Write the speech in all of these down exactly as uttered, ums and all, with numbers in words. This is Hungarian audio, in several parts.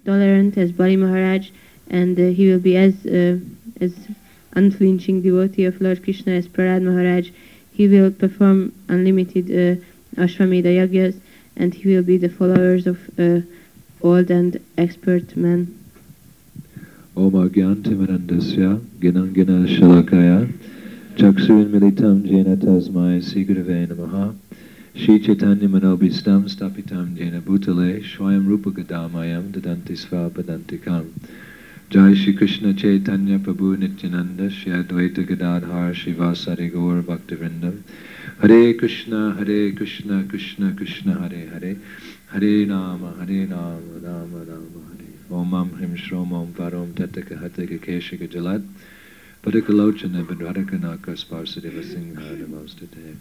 tolerant as Bali Maharaj, and uh, he will be as uh, as unflinching devotee of Lord Krishna as Prahlad Maharaj. He will perform unlimited uh, Ashwamedha yagyas, and he will be the followers of uh, old and expert men. Om Agyantimanandasya Ginangina Shalakaya Chaksurin Militam Jena Tasmai Sigrave Namaha Shri Chaitanya Manobhistam Stapitam Jena Bhutale Shwayam Rupa Gadamayam Dadanti Svapadantikam Jai Shri Krishna Chaitanya Prabhu Nityananda Shri Advaita Gadadhar Shivasari Gaur Bhaktivinoda Hare Krishna Hare Krishna Krishna Krishna Hare Hare Hare Nama Hare Nama Rama Rama Hare Om Am Hrim Shrom Om Parom Tataka Hataka Keshika Jalat Padakalochana Badradhakanaka Sparsadeva Singha Namastate.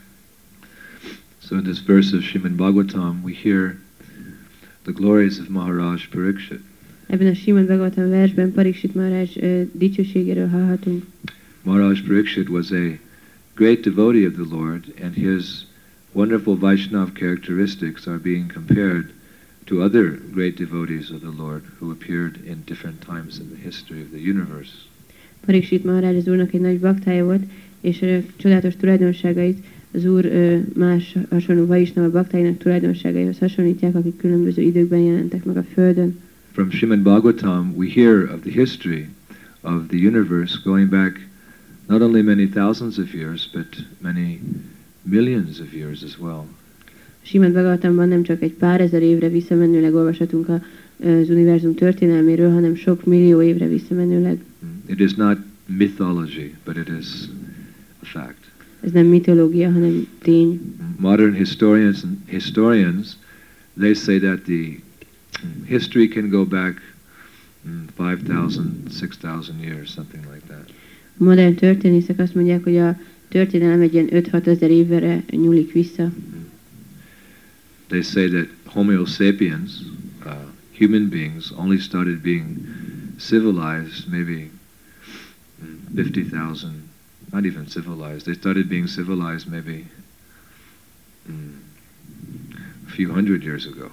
So in this verse of Srimad Bhagavatam we hear the glories of Maharaj Parikshit. Ebben a Srimad Bhagavatam versben Parikshit Maharaj uh, dicsőségéről hallhatunk. Maharaj Parikshit was a great devotee of the Lord, and his wonderful Vaishnava characteristics are being compared to other great devotees of the Lord who appeared in different times in the history of the universe. Parikshit Maharaj az Úrnak egy nagy baktája volt, és uh, csodálatos tulajdonságait az Úr uh, más hasonló Vaishnava baktáinak tulajdonságaihoz hasonlítják, akik különböző időkben jelentek meg a Földön. From Srimad Bhagavatam we hear of the history of the universe going back not only many thousands of years, but many millions of years as well. Srimad Bhagavatamban nem csak egy pár ezer évre visszamenőleg olvashatunk a, az univerzum történelméről, hanem sok millió évre visszamenőleg. It is not mythology, but it is a fact. Ez nem mitológia, hanem tény. Modern historians historians they say that the history can go back five thousand, six thousand years, something like that. A modern történészek azt mondják, hogy a történelem egy ilyen öt-hat ezer évre nyúlik vissza. They say that Homo sapiens, uh, human beings, only started being civilized maybe fifty thousand, not even civilized, they started being civilized maybe mm, a few hundred years ago.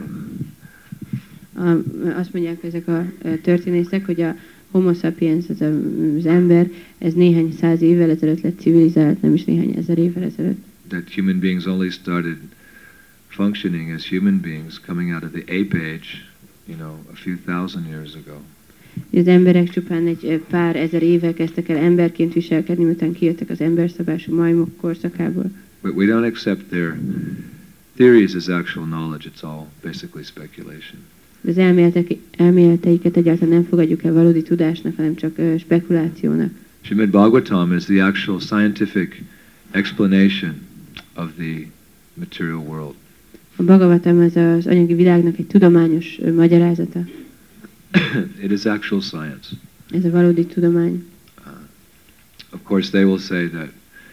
a, azt mondják ezek a történészek, hogy a Homo sapiens, az, a, az ember, ez néhány száz évvel ezelőtt lett civilizált, nem is néhány ezer évvel ezelőtt. That human beings only started functioning as human beings coming out of the ape age, you know, a few thousand years ago. Az emberek csupán egy pár ezer éve kezdtek el emberként viselkedni, miután kijöttek az emberszabású majmok korszakából. But we don't accept their theories as actual knowledge, it's all basically speculation. Az elméletek, elméleteiket egyáltalán nem fogadjuk el valódi tudásnak, hanem csak uh, spekulációnak. Srimad Bhagavatam is the actual scientific explanation of the material world. A Bhagavatam az az anyagi világnak egy tudományos uh, magyarázata. It is actual science. Ez a valódi tudomány. Uh, of course they will say that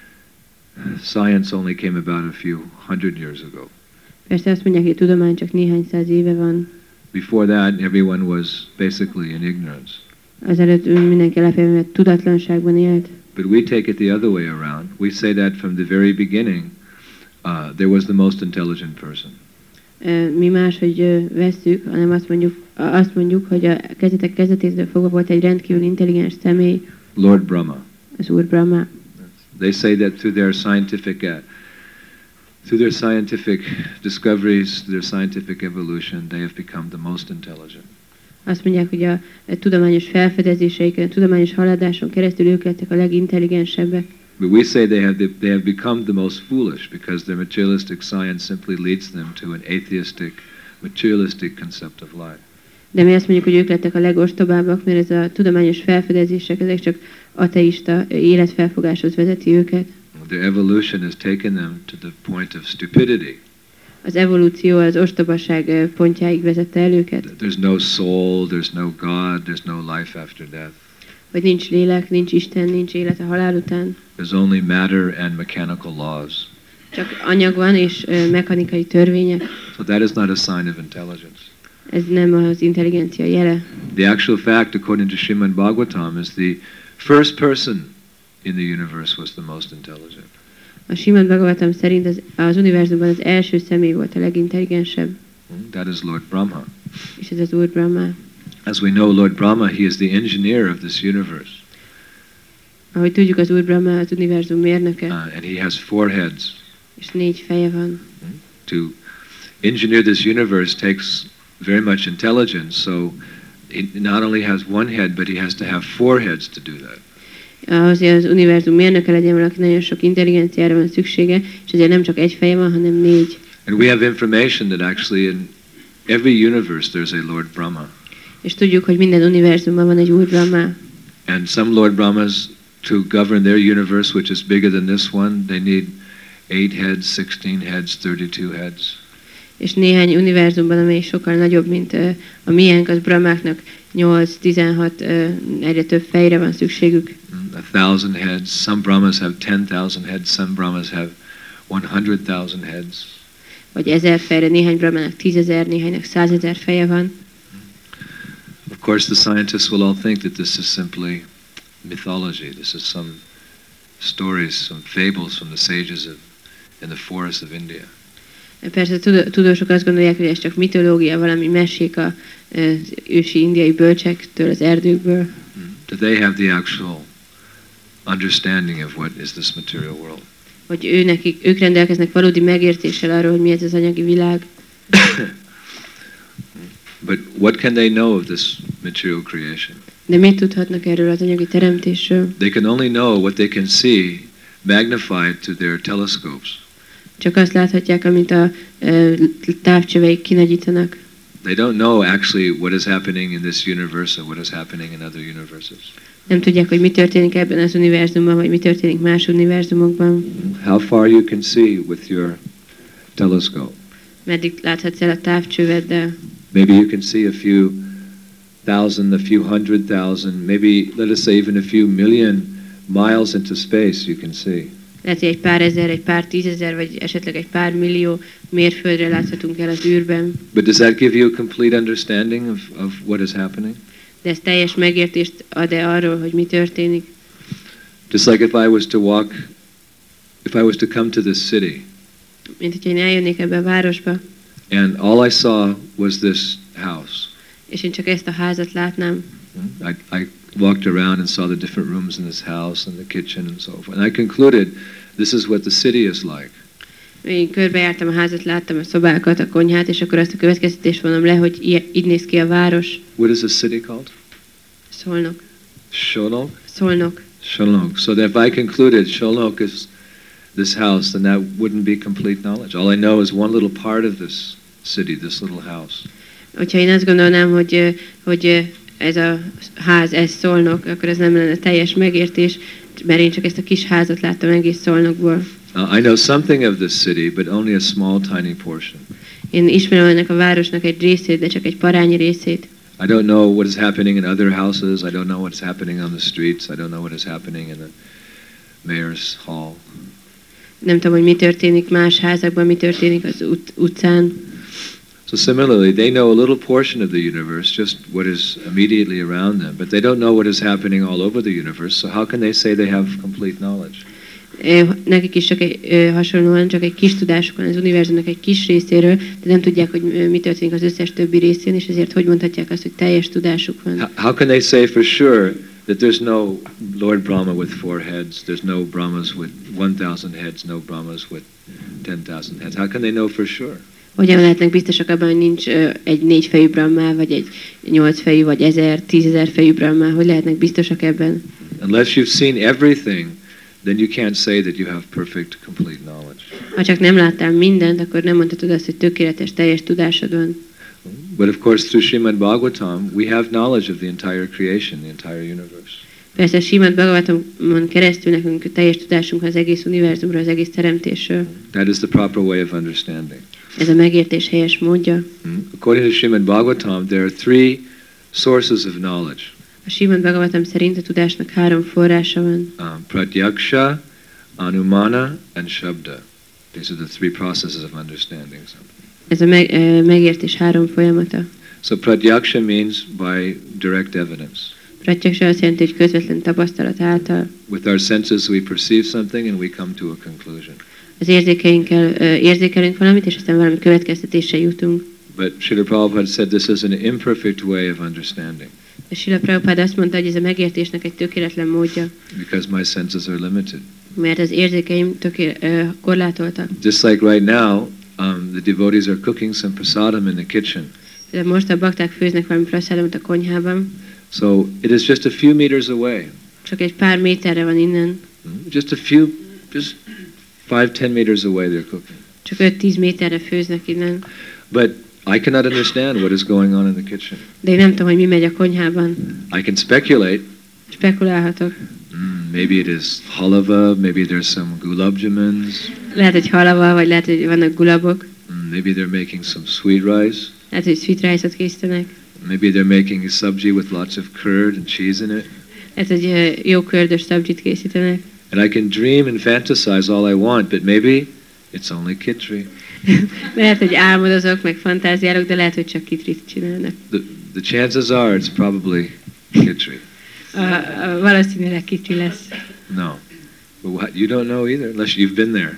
science only came about a few hundred years ago. Persze azt mondják, hogy a tudomány csak néhány száz éve van. Before that, everyone was basically in ignorance. Azelőtt mindenki alapjában tudatlanságban élt. But we take it the other way around. We say that from the very beginning, uh, there was the most intelligent person. Uh, mi máshogy uh, vesszük, hanem azt mondjuk, uh, azt mondjuk, hogy a kezdetek kezdetétől fogva volt egy rendkívül intelligens személy. Lord Brahma. Az Úr Brahma. They say that through their scientific uh, through their scientific discoveries, their scientific evolution, they have become the most intelligent. Azt mondják, hogy a, a tudományos felfedezéseiken, a tudományos haladáson keresztül ők lettek a legintelligensebbek. But we say they have the, they have become the most foolish because their materialistic science simply leads them to an atheistic, materialistic concept of life. De mi azt mondjuk, hogy ők lettek a legostobábbak, mert ez a tudományos felfedezések, ezek csak ateista életfelfogáshoz vezeti őket. Their evolution has taken them to the point of stupidity. Az evolúció az ostobaság pontjáig vezette el őket. There's no soul, there's no God, there's no life after death. Hogy nincs lélek, nincs Isten, nincs élet a halál után. There's only matter and mechanical laws. Csak anyag van és uh, mechanikai törvények. So that is not a sign of intelligence. Ez nem az intelligencia jele. The actual fact, according to Srimad Bhagavatam, is the first person in the universe was the most intelligent. A Srimad Bhagavatam szerint az, az univerzumban az első személy volt a legintelligensebb. That is Lord Brahma. és ez az Úr Brahma. As we know, Lord Brahma, he is the engineer of this universe. Ahogy tudjuk, az Úr Brahma az univerzum mérnöke, Uh, and he has four heads. és négy feje van. To engineer this universe takes very much intelligence, so he not only has one head, but he has to have four heads to do that. Ahhoz, hogy az univerzum mérnöke legyen, valaki nagyon sok intelligenciára van szüksége, és ezért nem csak egy feje van, hanem négy. And we have information that actually in every universe there's a Lord Brahma. És tudjuk, hogy minden univerzumban van egy Úr Brahma. And some Lord Brahmas, to govern their universe, which is bigger than this one, they need eight heads, sixteen heads, thirty-two heads. És néhány univerzumban, amely sokkal nagyobb, mint uh, a miénk, az Brahmáknak nyolc, tizenhat, uh, egyre több fejre van szükségük. A thousand heads. Some Brahmas have ten thousand heads. Some Brahmas have one hundred thousand heads. Vagy ezer fejre, néhány Brahmának tízezer, néhánynak százezer feje van. Of course, the scientists will all think that this is simply mythology. This is some stories, some fables from the sages of, in the forests of India. Persze a tudósok azt gondolják, hogy ez csak mitológia, valami mesék az ősi indiai bölcsektől, az erdőkből. That they have the actual understanding of what is this material world. Hogy ő nekik, ők rendelkeznek valódi megértéssel arról, hogy mi ez az anyagi világ. But what can they know of this material creation? De mit tudhatnak erről az anyagi teremtésről? They can only know what they can see magnified to their telescopes. Csak azt láthatják, amit a uh, távcsöveik kinagyítanak. They don't know actually what is happening in this universe or what is happening in other universes. Nem tudják, hogy mi történik ebben az univerzumban, vagy mi történik más univerzumokban. How far you can see with your telescope. Meddig láthatsz el a távcsöveddel? Maybe you can see a few thousand, a few hundred thousand, maybe let us say even a few million miles into space you can see. Lehet, hogy egy pár ezer, egy pár tízezer, vagy esetleg egy pár millió mérföldre láthatunk el az űrben. But does that give you a complete understanding of, of what is happening? De ez teljes megértést ad-e arról, hogy mi történik? Just like if I was to walk, if I was to come to this city. Mint hogyha én eljönnék ebbe a városba. And all I saw was this house. És én csak ezt a házat látnám. I, I walked around and saw the different rooms in this house and the kitchen and so forth. And I concluded this is what the city is like. Én körbejártam a házat, láttam a szobákat, a konyhát, és akkor azt a következtetést vonom le, hogy így, így néz ki a város. What is the city called? Szolnok. Sholok? Szolnok. Sholok. So that if I concluded Sholok is this house, then that wouldn't be complete knowledge. All I know is one little part of this city, this little house. Hogyha én azt gondolnám, hogy, hogy ez a ház, ez Szolnok, akkor ez nem lenne teljes megértés, mert én csak ezt a kis házat láttam egész Szolnokból. Uh, I know something of this city, but only a small, tiny portion. Én ismerem ennek a városnak egy részét, de csak egy parányi részét. I don't know what is happening in other houses. I don't know what's happening on the streets. I don't know what is happening in the mayor's hall. Nem tudom, hogy mi történik más házakban, mi történik az ut- utcán. So similarly, they know a little portion of the universe, just what is immediately around them, but they don't know what is happening all over the universe. So how can they say they have complete knowledge? Nekik is csak egy, hasonlóan csak egy kis tudásuk van az univerzumnak egy kis részéről, de nem tudják, hogy mi történik az összes többi részén, és ezért hogy mondhatják azt, hogy teljes tudásuk van. How can they say for sure that there's no Lord Brahma with four heads, there's no Brahmas with one thousand heads, no Brahmas with ten thousand heads? How can they know for sure? Hogyan lehetnek biztosak abban, hogy nincs egy négyfejű Brahma, vagy egy nyolcfejű, vagy ezer, tízezer fejű Brahma? Hogy lehetnek biztosak ebben? Unless you've seen everything, then you can't say that you have perfect, complete knowledge. Ha csak nem láttál mindent, akkor nem mondhatod azt, hogy tökéletes, teljes tudásod van. But of course, through Srimad Bhagavatam, we have knowledge of the entire creation, the entire universe. Persze Srimad Bhagavatamon keresztül nekünk teljes tudásunk az egész univerzumról, az egész teremtésről. That is the proper way of understanding. Ez a megértés helyes módja. According to Srimad Bhagavatam, there are three sources of knowledge. A Srimad Bhagavatam szerint a tudásnak három forrása van. Um, Pratyaksha, Anumana, and Shabda. These are the three processes of understanding something. Ez a meg, uh, megértés három folyamata. So Pratyaksha means by direct evidence. Pratyaksha azt jelenti, hogy közvetlen tapasztalat által. With our senses we perceive something and we come to a conclusion. Az érzékeinkkel uh, érzékelünk valamit, és aztán valami következtetésre jutunk. But Srila Prabhupada said this is an imperfect way of understanding. Srila Prabhupada azt mondta, hogy ez a megértésnek egy tökéletlen módja. Because my senses are limited. Mert az érzékeim töké, uh, korlátoltak. Just like right now, um, the devotees are cooking some prasadam in the kitchen. De most a bakták főznek valami prasadamot a konyhában. So it is just a few meters away. Csak egy pár méterre van innen. Just a few, just five, ten meters away they're cooking. Csak öt-tíz méterre főznek innen. But I cannot understand what is going on in the kitchen. De én nem tudom, hogy mi megy a konyhában. I can speculate. Spekulálhatok. Mm, maybe it is halava, maybe there's some gulab jamans. Lehet, hogy halava, vagy lehet, hogy vannak gulabok. Mm, maybe they're making some sweet rice. Lehet, hogy sweet rice-ot készítenek. Maybe they're making a sabji with lots of curd and cheese in it. Lehet, hogy uh, jó kördös szabzsit készítenek. And I can dream and fantasize all I want, but maybe it's only kitri. Lehet, hogy álmodozok, meg fantáziálok, de lehet, hogy csak kitrit csinálnak. The, the chances are it's probably kitri. A, a, valószínűleg kitri lesz. No. But what, you don't know either, unless you've been there.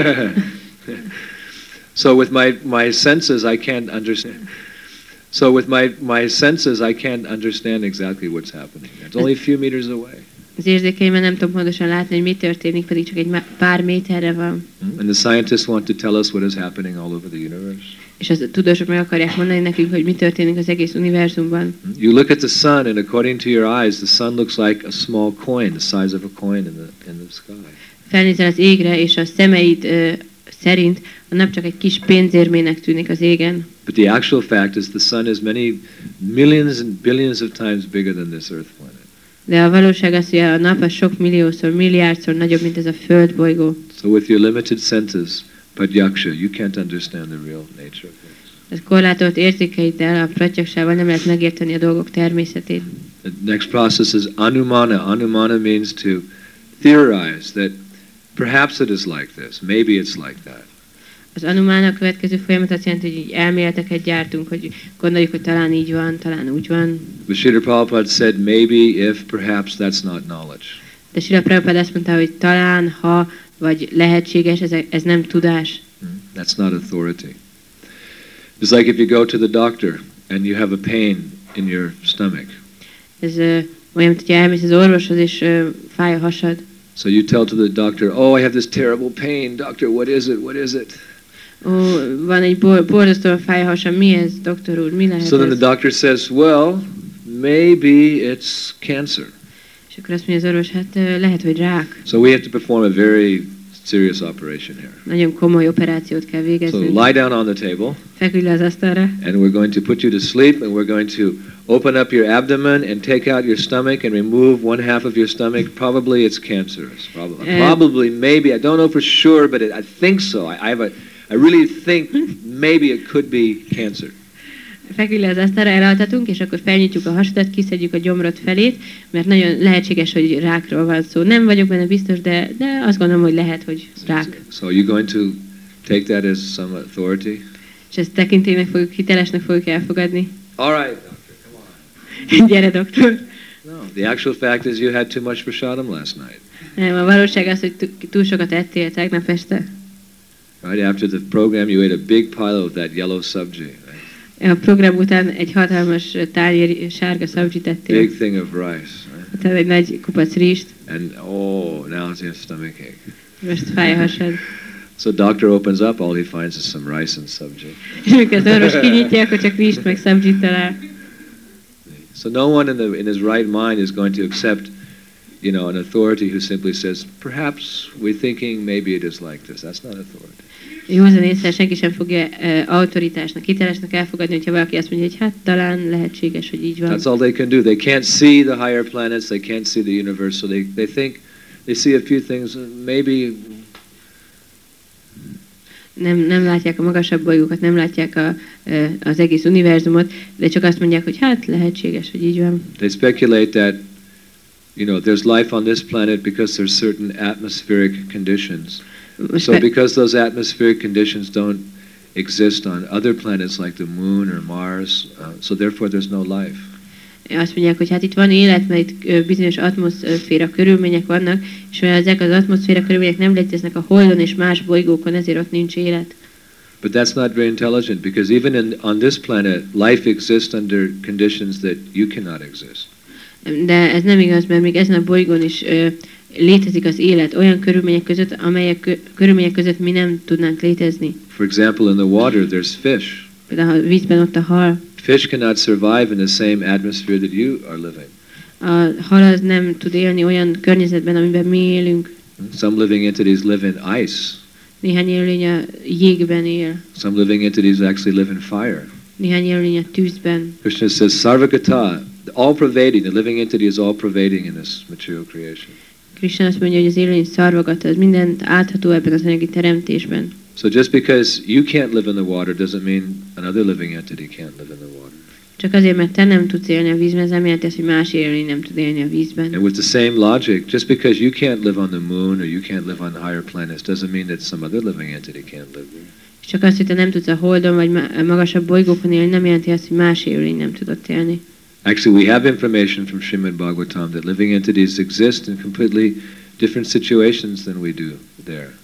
So with my, my senses, I can't understand. So with my, my senses, I can't understand exactly what's happening. It's only a few meters away. Az érzékeimben nem tudom pontosan látni, hogy mi történik, pedig csak egy pár méterre van. And the scientists want to tell us what is happening all over the universe. És a tudósok meg akarják mondani nekünk, hogy mi történik az egész univerzumban. You look at the sun, and according to your eyes, the sun looks like a small coin, the size of a coin in the in the sky. Felnézel az égre, és a szemeid uh, szerint a nap csak egy kis pénzérmének tűnik az égen. But the actual fact is the sun is many millions and billions of times bigger than this earth planet. De a valóság az, hogy a nap az sok milliószor, milliárdszor nagyobb, mint ez a földbolygó. So with your limited senses, pratyaksha, you can't understand the real nature of things. Ez korlátolt érzékeiddel, a pratyaksával nem lehet megérteni a dolgok természetét. The next process is anumana. Anumana means to theorize that perhaps it is like this, maybe it's like that. Az anumána a következő folyamat azt jelenti, hogy így elméleteket gyártunk, hogy gondoljuk, hogy talán így van, talán úgy van. But Srila Prabhupada said maybe, if, perhaps that's not knowledge. De Srila Prabhupada azt mondta, hogy talán, ha, vagy lehetséges, ez, ez nem tudás. That's not authority. It's like if you go to the doctor and you have a pain in your stomach. Ez uh, olyan, hogyha elmész az orvoshoz, és uh, fáj a hasad. So you tell to the doctor, oh, I have this terrible pain. Doctor, what is it? What is it? Ó, van egy bor borzasztóan fáj a hasam, mi ez, doktor úr, mi lehet So then ez? the doctor says, well, maybe it's cancer. És akkor azt mondja az orvos, hát uh, lehet, hogy rák. So we have to perform a very serious operation here. Nagyon komoly operációt kell So végezni. lie down on the table, Feküdj le az asztalra, and we're going to put you to sleep, and we're going to open up your abdomen and take out your stomach and remove one half of your stomach. Probably it's cancerous. Probably, Uh, probably, maybe. I don't know for sure, but it, I think so. I, I have a, I really think maybe it could be cancer. feküdj le az asztalra, elaltatunk, és akkor felnyitjuk a hasadat, kiszedjük a gyomrod felét, mert nagyon lehetséges, hogy rákról van szó. Nem vagyok benne biztos, de, de azt gondolom, hogy lehet, hogy rák. So you're going to take that as some authority? És ezt tekintélynek fogjuk, hitelesnek fogjuk elfogadni. All right, doctor, come on. Gyere, doktor! No, the actual fact is you had too much prasadam last night. Nem, a valóság az, hogy túl sokat ettél tegnap este. Right after the program, you ate a big pile of that yellow sabji. Right? A program után egy hatalmas tányér sárga szabzsit ettél. Big thing of rice. Right? Utána egy nagy kupac rizst. And oh, now it's your stomach ache. Most fáj a hasad. So doctor opens up, all he finds is some rice and sabji. És amikor az orvos kinyitja, akkor csak rizst meg szabzsit talál. So no one in the in his right mind is going to accept, you know, an authority who simply says, perhaps we're thinking maybe it is like this. That's not authority. Józan észre senki sem fogja uh, autoritásnak, hitelesnek elfogadni, hogyha valaki azt mondja, hogy hát talán lehetséges, hogy így van. That's all they can do. They can't see the higher planets. They can't see the universe. So they, they think, they see a few things, maybe. Nem, nem látják a magasabb bolygókat, nem látják a, uh, az egész univerzumot, de csak azt mondják, hogy hát lehetséges, hogy így van. They speculate that, you know, there's life on this planet because there's certain atmospheric conditions. Most So fe- because those atmospheric conditions don't exist on other planets like the moon or Mars, uh, so therefore there's no life. azt mondják, hogy hát itt van élet, mert itt ö, bizonyos atmoszféra körülmények vannak, és mivel ezek az atmoszféra körülmények nem léteznek a Holdon és más bolygókon, ezért ott nincs élet. But that's not very intelligent, because even in, on this planet, life exists under conditions that you cannot exist. De ez nem igaz, mert még ezen a bolygón is ö, létezik az élet olyan körülmények között, amelyek kö, körülmények között mi nem tudnánk létezni. For example, in the water, there's fish. Például a vízben ott a hal. Fish cannot survive in the same atmosphere that you are living. A hal az nem tud élni olyan környezetben, amiben mi élünk. Some living entities live in ice. Néhány élőlény a jégben él. Some living entities actually live in fire. Néhány élőlény a tűzben. Krishna says, Sarvagata, all pervading, the living entity is all pervading in this material creation. Krishna azt mondja, hogy az élőlény szarvagata, az mindent átható ebben az anyagi teremtésben. So just because you can't live in the water doesn't mean another living entity can't live in the water. Csak azért, mert te nem tudsz élni a vízben, ez nem jelenti azt, hogy más élőlény nem tud élni a vízben. And with the same logic, just because you can't live on the moon or you can't live on higher planets doesn't mean that some other living entity can't live there. És csak azt, hogy te nem tudsz a Holdon vagy magasabb bolygókon élni, nem jelenti azt, hogy más élőlény nem tudott élni. Actually, we have information from Srimad Bhagavatam that living entities exist in completely different situations than we do there.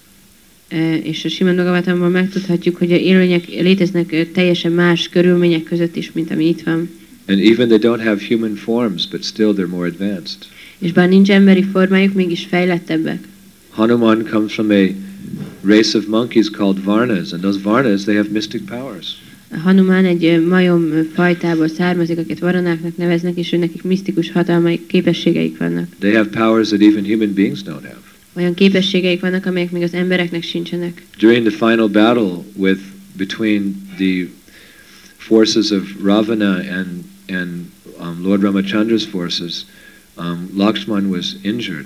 És a Srimad Bhagavatamban megtudhatjuk, hogy a élőlények léteznek teljesen más körülmények között is, mint ami itt van. And even they don't have human forms, but still they're more advanced. És bár nincs emberi formájuk, mégis fejlettebbek. Hanuman comes from a race of monkeys called Varnas, and those Varnas, they have mystic powers. Hanuman egy majom fajtából származik, akiket varanáknak neveznek, és nekik misztikus hatalmai képességeik vannak. They have powers that even human beings don't have. Olyan képességeik vannak, amelyek még az embereknek sincsenek. During the final battle with between the forces of Ravana and and um, Lord Ramachandra's forces, um, Lakshman was injured.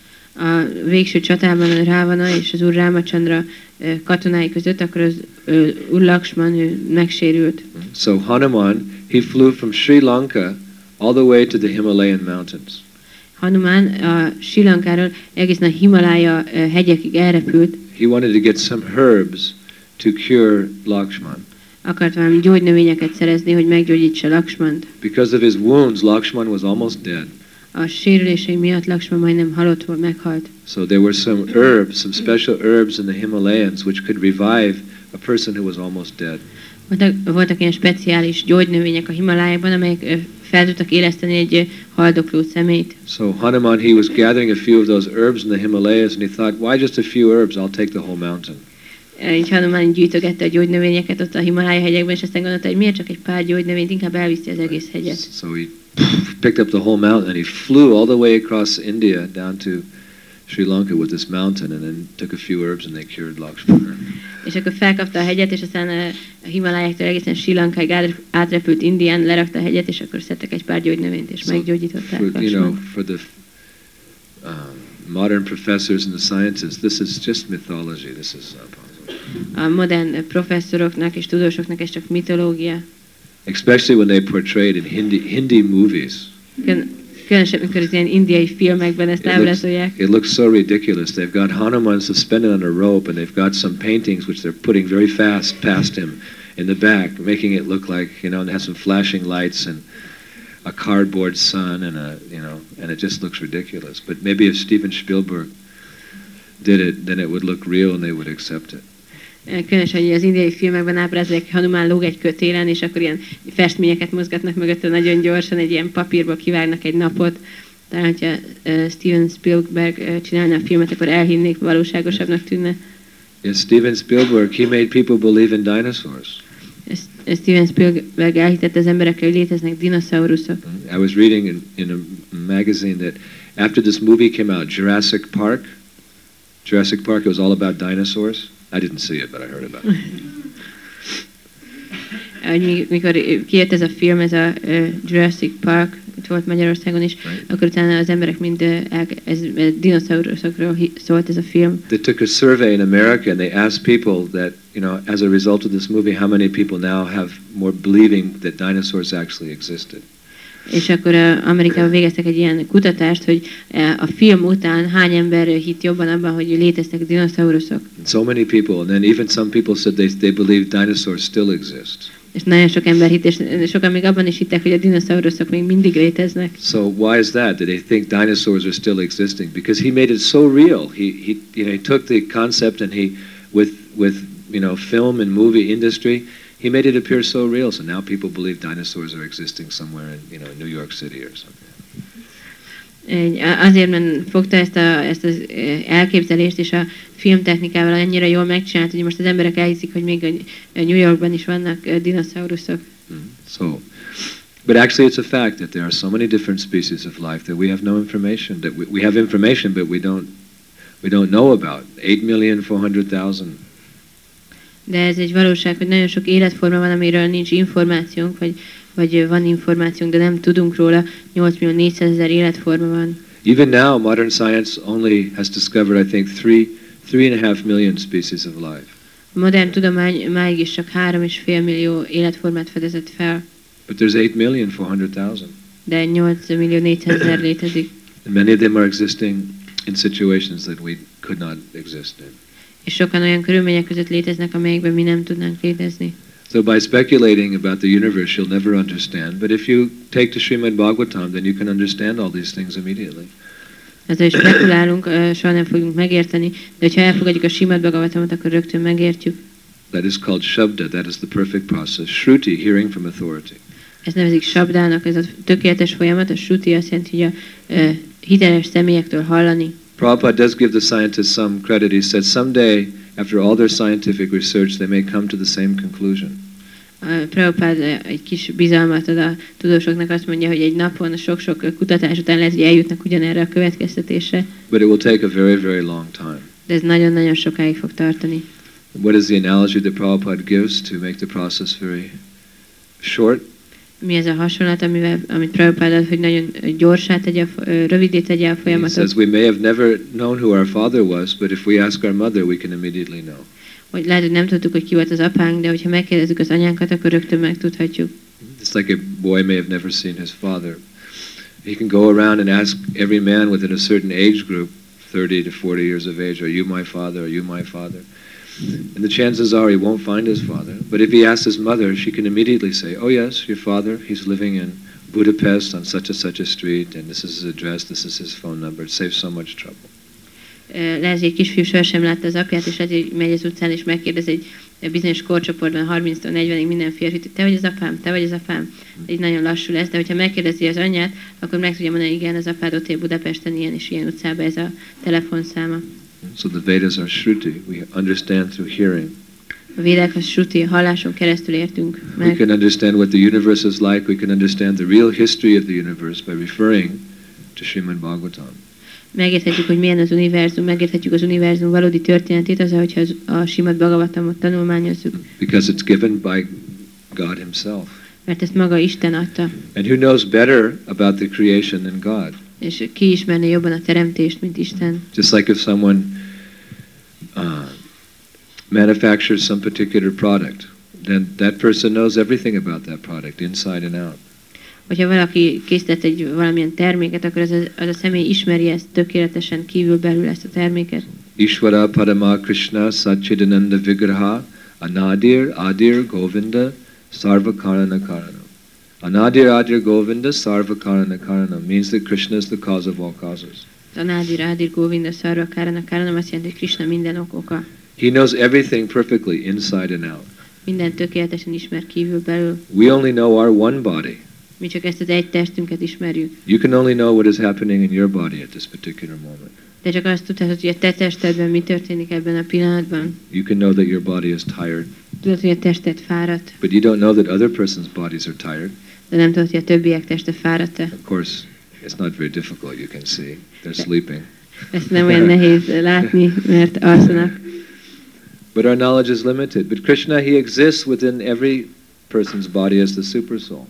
A végső csatában a Rávana és az Úr Rámachandra katonái között, akkor az Úr Lakshman ő megsérült. So Hanuman, he flew from Sri Lanka all the way to the Himalayan mountains. Hanuman a Sri Lankáról egészen a Himalája hegyekig elrepült. He wanted to get some herbs to cure Lakshman. Akart valami gyógynövényeket szerezni, hogy meggyógyítsa Lakshmant. Because of his wounds, Lakshman was almost dead. A sérülései miatt Lakshman majdnem halott volt, meghalt. So there were some herbs, some special herbs in the Himalayas which could revive a person who was almost dead. Voltak, voltak ilyen speciális gyógynövények a Himalájában, amelyek fel tudtak éleszteni egy haldokló személyt. So Hanuman, he was gathering a few of those herbs in the Himalayas, and he thought, why just a few herbs? I'll take the whole mountain. Így Hanuman gyűjtögette a gyógynövényeket ott a Himalája hegyekben, és aztán gondolta, hogy miért csak egy pár gyógynövényt, inkább elviszi az egész hegyet. So he picked up the whole mountain, and he flew all the way across India down to Sri Lanka with this mountain, and then took a few herbs, and they cured Lakshmana. És akkor felkapta a hegyet, és aztán a Himalájáktól egészen Sri Lankáig átrepült Indián, lerakta a hegyet, és akkor szedtek egy pár gyógynövényt, és so meggyógyították for, you know, for the um, modern professors and the scientists, this is just mythology. This is uh, possible. A modern professzoroknak és tudósoknak ez csak mitológia. Especially when they portray it in Hindi, Hindi movies. Különösen, amikor az ilyen indiai filmekben ezt ábrázolják. It looks so ridiculous. They've got Hanuman suspended on a rope, and they've got some paintings which they're putting very fast past him in the back, making it look like, you know, and has some flashing lights and a cardboard sun and a, you know, and it just looks ridiculous. But maybe if Steven Spielberg did it, then it would look real and they would accept it. Különösen, hogy az indiai filmekben ábrázolják, Hanuman lóg egy kötélen, és akkor ilyen festményeket mozgatnak mögötte nagyon gyorsan, egy ilyen papírból kivágnak egy napot. Talán, hogyha uh, Steven Spielberg uh, csinálna a filmet, akkor elhinnék, valóságosabbnak tűnne. Yes, Steven Spielberg, he made people believe in dinosaurs. Steven Spielberg elhitette az emberekre, hogy léteznek dinoszauruszok. I was reading in, in a magazine that after this movie came out, Jurassic Park, Jurassic Park, it was all about dinosaurs. I didn't see it, but I heard about it. Mikor kijött ez a film, ez a uh, Jurassic Park, itt volt Magyarországon is, right. Akkor utána az emberek mind uh, ez, ez dinoszauruszokról szólt ez a film. They took a survey in America and they asked people that, you know, as a result of this movie, how many people now have more believing that dinosaurs actually existed. És akkor uh, Amerikában végeztek egy ilyen kutatást, hogy uh, a film után hány ember hitt jobban abban, hogy léteztek dinoszauruszok. So many people, and then even some people said they, they believe dinosaurs still exist. És nagyon sok ember hitt, és sokan még abban is hittek, hogy a dinoszauruszok még mindig léteznek. So why is that? Did they think dinosaurs are still existing? Because he made it so real. He, he, you know, he took the concept and he, with, with you know, film and movie industry, he made it appear so real. So now people believe dinosaurs are existing somewhere in, you know, New York City or something. Azért, mert fogta ezt, a, ezt az elképzelést, és a filmtechnikával annyira jól megcsinált, hogy most az emberek elhiszik, hogy még New Yorkban is vannak dinoszauruszok. Mm. So, but actually it's a fact that there are so many different species of life that we have no information, that we, we have information but we don't, we don't know about. eight million four hundred thousand. De ez egy valóság, hogy nagyon sok életforma van, amiről nincs információnk, vagy, vagy van információnk, de nem tudunk róla. nyolc millió négyszázezer életforma van. Even now, modern science only has discovered, I think, three, three and a half million species of life. A modern tudomány máig is csak három és fél millió életformát fedezett fel. But there's eight million four hundred thousand. De nyolc millió négyszázezer létezik. And many of them are existing in situations that we could not exist in. És sokan olyan körülmények között léteznek, amelyekben mi nem tudnánk létezni. So by speculating about the universe, you'll never understand. But if you take to Srimad Bhagavatam, then you can understand all these things immediately. Ezzel is spekulálunk, soha nem fogunk megérteni, de hogyha elfogadjuk a Srimad Bhagavatamot, akkor rögtön megértjük. That is called Shabda, that is the perfect process. Shruti, hearing from authority. Ez nevezik Shabdának, ez a tökéletes folyamat, a Shruti azt jelenti, hogy a uh, hiteles személyektől hallani. Prabhupada does give the scientists some credit. He said someday, after all their scientific research, they may come to the same conclusion. Uh, Prabhupada egy kis bizalmat ad a tudósoknak, azt mondja, hogy egy napon sok-sok kutatás után lehet, hogy eljutnak ugyanerre a következtetésre. But it will take a very, very long time. De ez nagyon-nagyon sokáig fog tartani. What is the analogy that Prabhupada gives to make the process very short? Mi ez a hasonlat, amivel, amit Prabhupada ad, hogy nagyon gyorsá tegye, rövidé tegye a folyamatot? He says we may have never known who our father was, but if we ask our mother, we can immediately know. Hogy lehet, hogy nem tudtuk, hogy ki volt az apánk, de hogyha megkérdezzük az anyánkat, akkor rögtön megtudhatjuk. It's like a boy may have never seen his father. He can go around and ask every man within a certain age group, thirty to forty years of age, are you my father, are you my father? And the chances are he won't find his father. But if he asks his mother, she can immediately say, oh yes, your father, he's living in Budapest on such and such a street, and this is his address, this is his phone number. It saves so much trouble. Lehet, egy kisfiú sohasem látta az apját, és azért megy az utcán, és megkérdez egy bizonyos korcsoportban, harminctól negyvenig minden férfit, hogy te vagy az apám, te vagy az apám. Így nagyon lassú lesz, de hogyha megkérdezi az anyját, akkor meg tudja mondani, igen, az apád ott él Budapesten, ilyen és ilyen utcában, ez a telefonszáma. So the Vedas are Shruti. We understand through hearing. A védák a Shruti, a halláson keresztül értünk meg. We can understand what the universe is like. We can understand the real history of the universe by referring to Srimad Bhagavatam. Megérthetjük, hogy milyen az univerzum, megérthetjük az univerzum valódi történetét, az, hogyha a Srimad Bhagavatamot tanulmányozzuk. Because it's given by God himself. Mert ezt maga Isten adta. And who knows better about the creation than God? És ki ismerne jobban a teremtést, mint Isten. Just like if someone uh, manufactures some particular product, then that person knows everything about that product, inside and out. Hogyha valaki készített egy valamilyen terméket, akkor az a, az a személy ismeri ezt tökéletesen kívül-belül ezt a terméket. Ishvara Parama Krishna Satchidananda Vigraha Anadir Adir Govinda Sarva Karana Karana. Anadir Adir Govinda Sarva Karana Karana means that Krishna is the cause of all causes. Anadir Adir Govinda Sarva Karana Karana azt jelenti, hogy Krishna minden ok oka. He knows everything perfectly inside and out. Minden tökéletesen ismer kívül-belül. We only know our one body. Mi csak ezt az egy testünket ismerjük. You can only know what is happening in your body at this particular moment. De csak azt tudhatod, hogy a te testedben mi történik ebben a pillanatban. You can know that your body is tired. Tudod, hogy a tested fáradt. But you don't know that other person's bodies are tired. De nem tudod, hogy a többiek teste fáradt-e. Of course, it's not very difficult, you can see. They're sleeping. Ezt nem olyan nehéz látni, mert alszanak. But our knowledge is limited. But Krishna, he exists within every person's body as the super soul.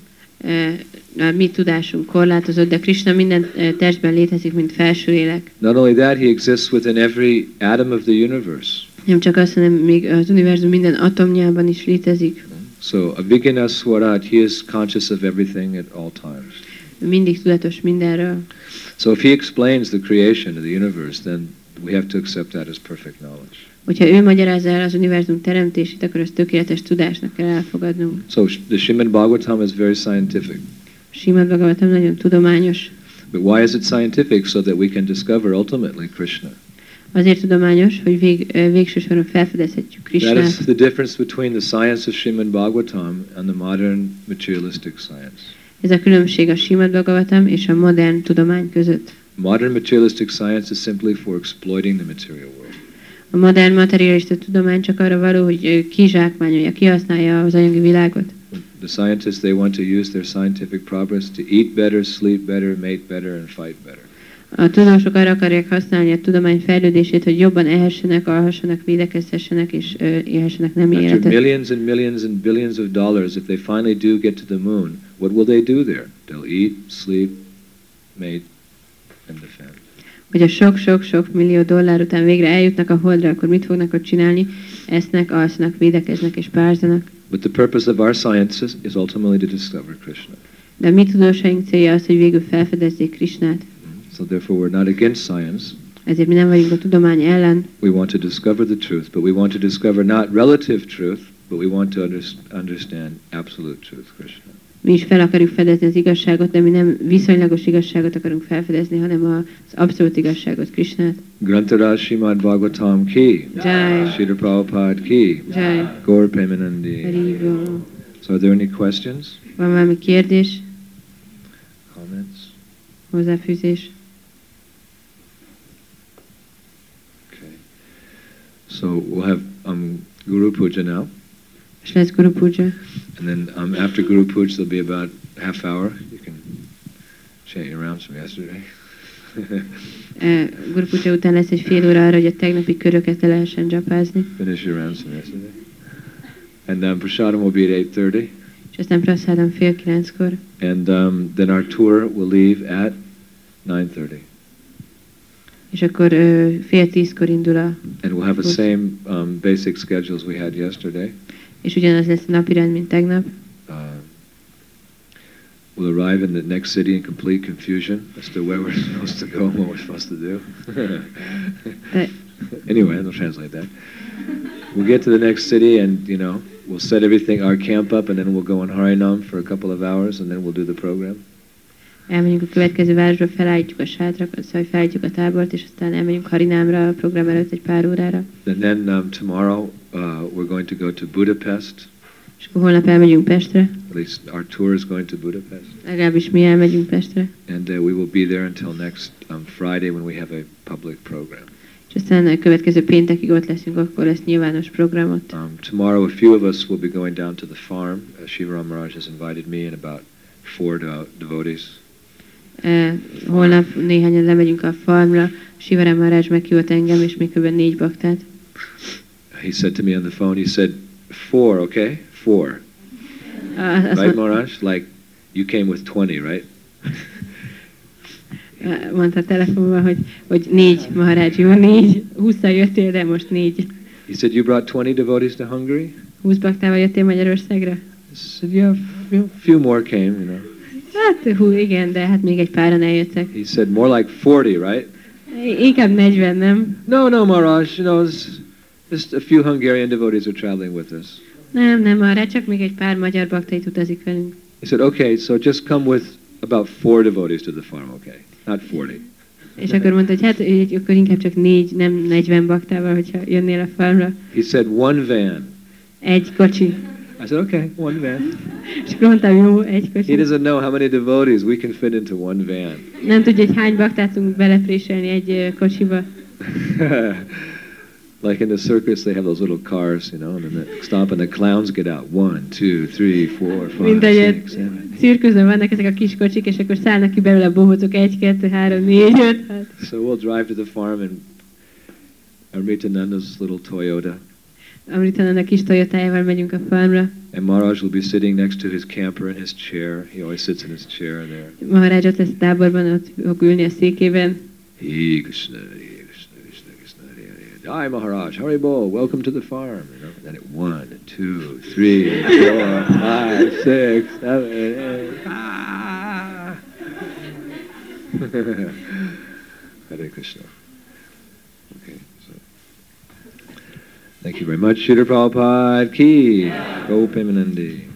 A mi tudásunk korlátozott, de Krishna minden testben létezik, mint felső lélek. Not only that, he exists within every atom of the universe. Nem csak az, hanem még az univerzum minden atomjában is létezik. So, Avijnana Swarat, he is conscious of everything at all times. Mindig tudatos mindenről. So if he explains the creation of the universe, then we have to accept that as perfect knowledge. Hogyha ő magyarázza el az univerzum teremtését, akkor ezt tökéletes tudásnak kell elfogadnunk. So the Srimad Bhagavatam is very scientific. Srimad Bhagavatam nagyon tudományos. But why is it scientific? So that we can discover ultimately Krishna. Azért tudományos, hogy vég, végső soron felfedezhetjük That Krisnát. is the difference between the science of Srimad Bhagavatam and the modern materialistic science. Ez a különbség a Srimad Bhagavatam és a modern tudomány között. Modern materialistic science is simply for exploiting the material world. A modern materialista tudomány csak arra való, hogy kizsákmányolja, kihasználja az anyagi világot. The scientists, they want to use their scientific progress to eat better, sleep better, mate better, and fight better. A tudósok arra akarják használni a tudomány fejlődését, hogy jobban ehessenek, alhassanak, védekezhessenek és uh, élhessenek nemi After életet. millions and millions and billions of dollars, if they finally do get to the moon, what will they do there? They'll eat, sleep, mate, and defend. Hogy a sok-sok-sok millió dollár után végre eljutnak a holdra, akkor mit fognak ott csinálni? Esznek, alszanak, védekeznek és párzanak. But the purpose of our science is, is ultimately to discover Krishna. De a mi tudósaink célja az, hogy végül felfedezzék Krisnát. So therefore we're not against science. Ezért mi nem vagyunk a tudomány ellen. We want to discover the truth, but we want to discover not relative truth, but we want to under, understand absolute truth, Krishna. Mi is fel akarjuk fedezni az igazságot, de mi nem viszonylagos igazságot akarunk felfedezni, hanem az abszolút igazságot, Krisnát. Grantaraj Srimad Bhagavatam ki, Jai. Srila Prabhupada ki, Jai. Gaur Premanandi. Haribol. So are there any questions, Van valami kérdés, comments? hozzáfűzés? Okay. So we'll have um, Guru Puja now. És lesz Guru Puja. And then um, after Guru Puja, there'll be about half hour. You can chant your rounds from yesterday. Uh, Guru Puja után lesz egy fél óra arra, hogy a tegnapi köröket le lehessen dzsapázni. Finish your rounds from yesterday. And um, Prasadam will be at eight thirty. És aztán praszádam fél kilenckor. And um, then our tour will leave at nine thirty. És akkor uh, fél tízkor indul a... And we'll have the same um, basic schedules we had yesterday. És ugyanaz lesz a napirend, mint tegnap. Uh, we'll arrive in the next city in complete confusion as to where we're supposed to go and what we're supposed to do. De, Anyway, I'll translate that. We'll get to the next city and, you know, we'll set everything, our camp up, and then we'll go on Harinam for a couple of hours, and then we'll do the program. elmegyünk a következő városba, felállítjuk a sátrakat, szóval felállítjuk a tábort, és aztán elmegyünk Harinámra a program előtt egy pár órára. And then um, tomorrow uh, we're going to go to Budapest. És akkor holnap elmegyünk Pestre, At least our tour is going to Budapest. legalábbis mi elmegyünk Pestre. And uh, we will be there until next um, Friday when we have a public program. És aztán a következő péntekig ott leszünk, akkor lesz nyilvános programot. Um, tomorrow a few of us will be going down to the farm. Uh, Shiva Maharaj has invited me and about four devo- devotees. Uh, holnap néhányan lemegyünk a farmra, Shiva Maharaj meghívott engem, és még kb. négy baktát. He said to me on the phone, he said, four, okay? Four. Uh, azt Right, mond, Maharaj? Like, you came with twenty, right? uh, mondta a telefonban, hogy, hogy négy, Maharaj, jó, négy, hússzal jöttél, de most négy. He said, you brought twenty devotees to Hungary? húsz baktával jöttél Magyarországra? I said, yeah, a few more came, you know. Hát, hú, igen, de hát még egy páran eljöttek. He said, more like forty, right? Inkább negyven, nem? No, no, Maharaj, you know, it's just a few Hungarian devotees are traveling with us. Nem, nem, arra csak még egy pár magyar baktait utazik velünk. He said, okay, so just come with about four devotees to the farm, okay? Not forty. És akkor mondta, hogy hát így, akkor inkább csak négy, nem negyven baktával, hogyha jönnél a farmra. He said, one van. Egy kocsi. I said, okay, one van. És akkor mondtam, jó, egy kocsi. He doesn't know how many devotees we can fit into one van. Nem tudja, hogy hány baktát tudunk belepréselni egy ö, kocsiba. Like in the circus, they have those little cars, you know, and then they stop and the clowns get out. One, two, three, four, Mint five, ahogy six, seven. cirkuszban vannak ezek a kis kocsik, és akkor szállnak ki belőle a bohócok, egy, kettő, három, négy, öt, hat. So we'll drive to the farm and Amritananda's little Toyota. Amritanan a kis Toyotájával megyünk a farmra. And Maharaj will be sitting next to his camper in his chair. He always sits in his chair there. Maharaj ott lesz a táborban, ott fog ülni a székében. He Krishna, Hare Krishna, Krishna Krishna, Hare Hare. Jai Maharaj, Haribol, welcome to the farm. You know, and then it one, two, three, four, five, six, seven, eight. Ah! Hare Krishna. Okay, so thank you very much, Srila Prabhupada ki, Go Premanandi.